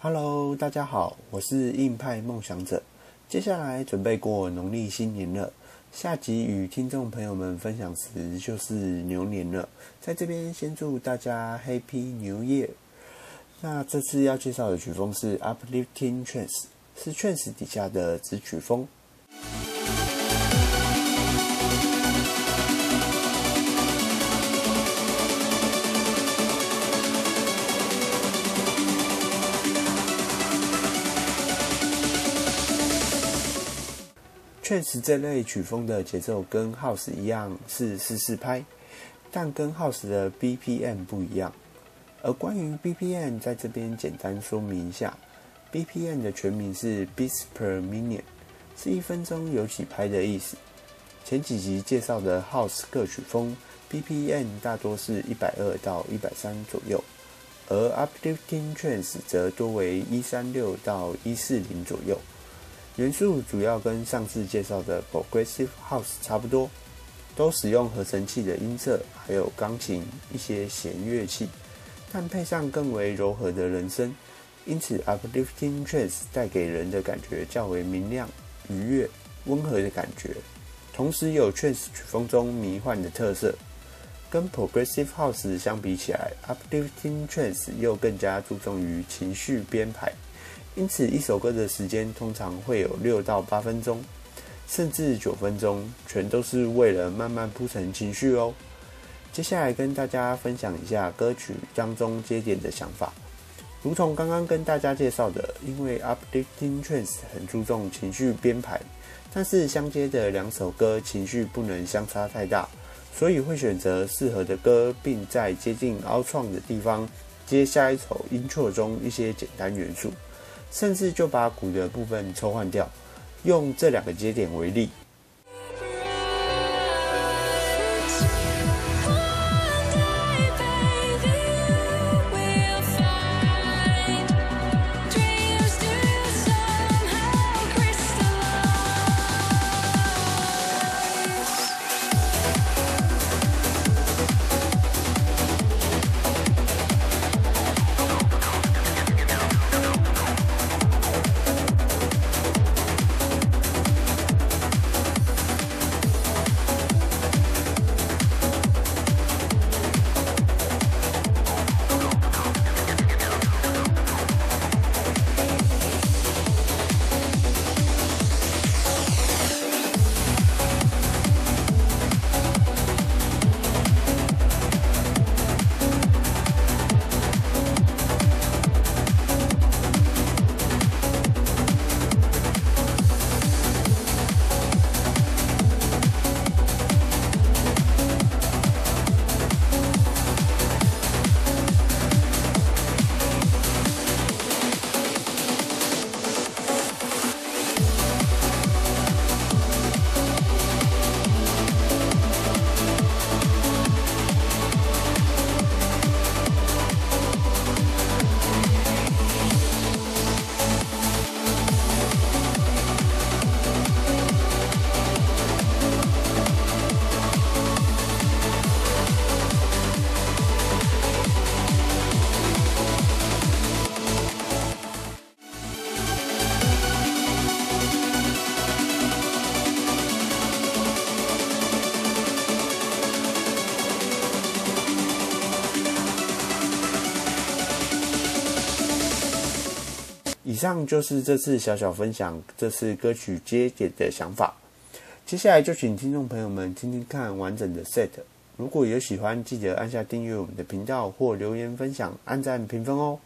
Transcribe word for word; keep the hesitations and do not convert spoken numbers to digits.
Hello， 大家好，我是硬派梦想者。接下来准备过农历新年了，下集与听众朋友们分享时就是牛年了，在这边先祝大家 Happy New Year。那这次要介绍的曲风是 Uplifting Trance， 是 Trance 底下的子曲风。Trance 这类曲风的节奏跟 House 一样是四四拍，但跟 House 的 B P M 不一样。而关于 B P M 在这边简单说明一下 ，B P M 的全名是 Beats per Minute， 是一分钟有几拍的意思。前几集介绍的 House 各曲风 B P M 大多是一百二到一百三左右，而 Uplifting Trance 则多为一三六到一四零左右。元素主要跟上次介绍的 Progressive House 差不多，都使用合成器的音色，还有钢琴一些弦乐器，但配上更为柔和的人声，因此 Uplifting Trance 带给人的感觉较为明亮、愉悦、温和的感觉，同时有 Trance 曲风中迷幻的特色。跟 Progressive House 相比起来 ，Uplifting Trance 又更加注重于情绪编排。因此，一首歌的时间通常会有六到八分钟，甚至九分钟，全都是为了慢慢铺陈情绪哦。接下来跟大家分享一下歌曲当中接点的想法。如同刚刚跟大家介绍的，因为 Uplifting Trance 很注重情绪编排，但是相接的两首歌情绪不能相差太大，所以会选择适合的歌，并在接近凹创的地方接下一首 intro 中一些简单元素。甚至就把鼓的部分抽换掉，用这两个节点为例。以上就是这次小小分享这次歌曲接点的想法。接下来就请听众朋友们听听看完整的 set。如果有喜欢，记得按下订阅我们的频道或留言分享、按赞评分哦。